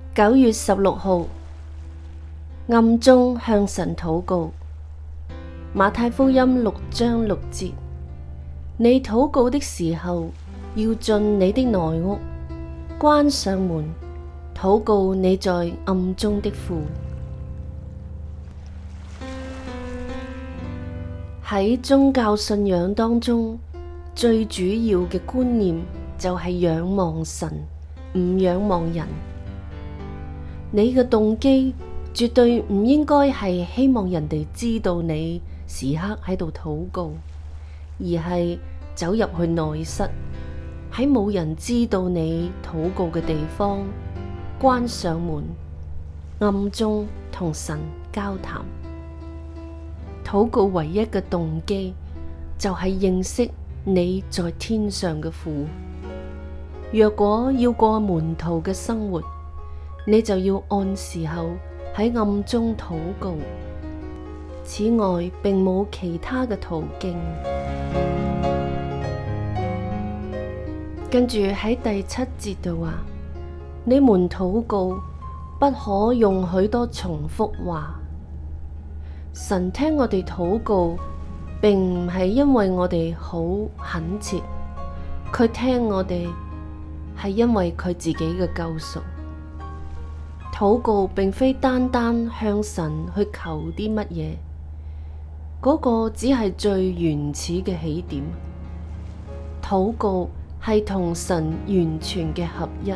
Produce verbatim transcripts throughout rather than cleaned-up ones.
九月十六號，暗中向神禱告。馬太福音六章六節，你禱告的時候，要進你的內屋，關上門，禱告你在暗中的父。喺宗教信仰當中，最主要嘅觀念就係仰望神，唔仰望人。你嘅動機絕對唔應該係希望人哋知道你時刻喺度禱告，而係走入去內室，喺冇人知道你禱告嘅地方，關上門，暗中同神交談。禱告唯一嘅動機就係認識你在天上嘅父。若果要過門徒嘅生活，你就要按時候喺暗中禱告。此外，並冇其他嘅途徑。跟住喺第七節度話，你們禱告不可用許多重複話。神聽我哋禱告，並唔係因為我哋好懇切，佢聽我哋係因為佢自己嘅救贖。禱告並非單單向神去求啲乜嘢，嗰個只係最原始嘅起點。禱告係同神完全嘅合一。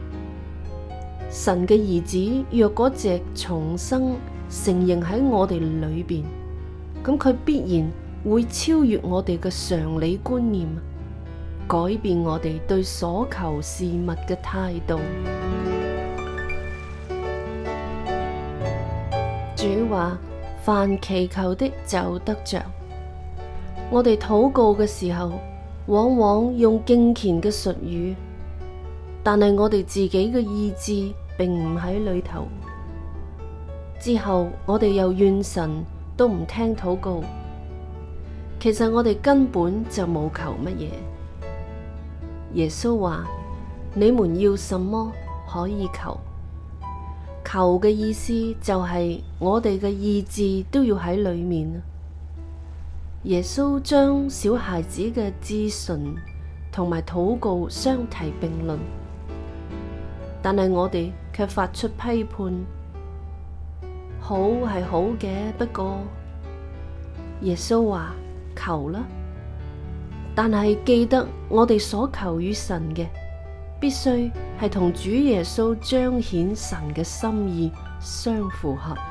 神嘅兒子若果隻重生承認喺我哋裏邊，咁佢必然會超越我哋嘅常理觀念，改變我哋對所求事物嘅態度。主話：凡祈求的就得着。我哋禱告嘅時候，往往用敬虔嘅術語，但係我哋自己嘅意志並唔喺裏頭。之後我哋又怨神都唔聽禱告，其實我哋根本就冇求乜嘢。耶穌話：你們要什麼可以求。求嘅意思就係我哋嘅意志都要喺裏面。耶穌將小孩子嘅至純同埋禱告相提並論，但係我哋卻發出批判。好係好嘅，不過耶穌話求啦，但係記得我哋所求與神嘅，必須係同主耶穌彰顯神嘅心意相符合。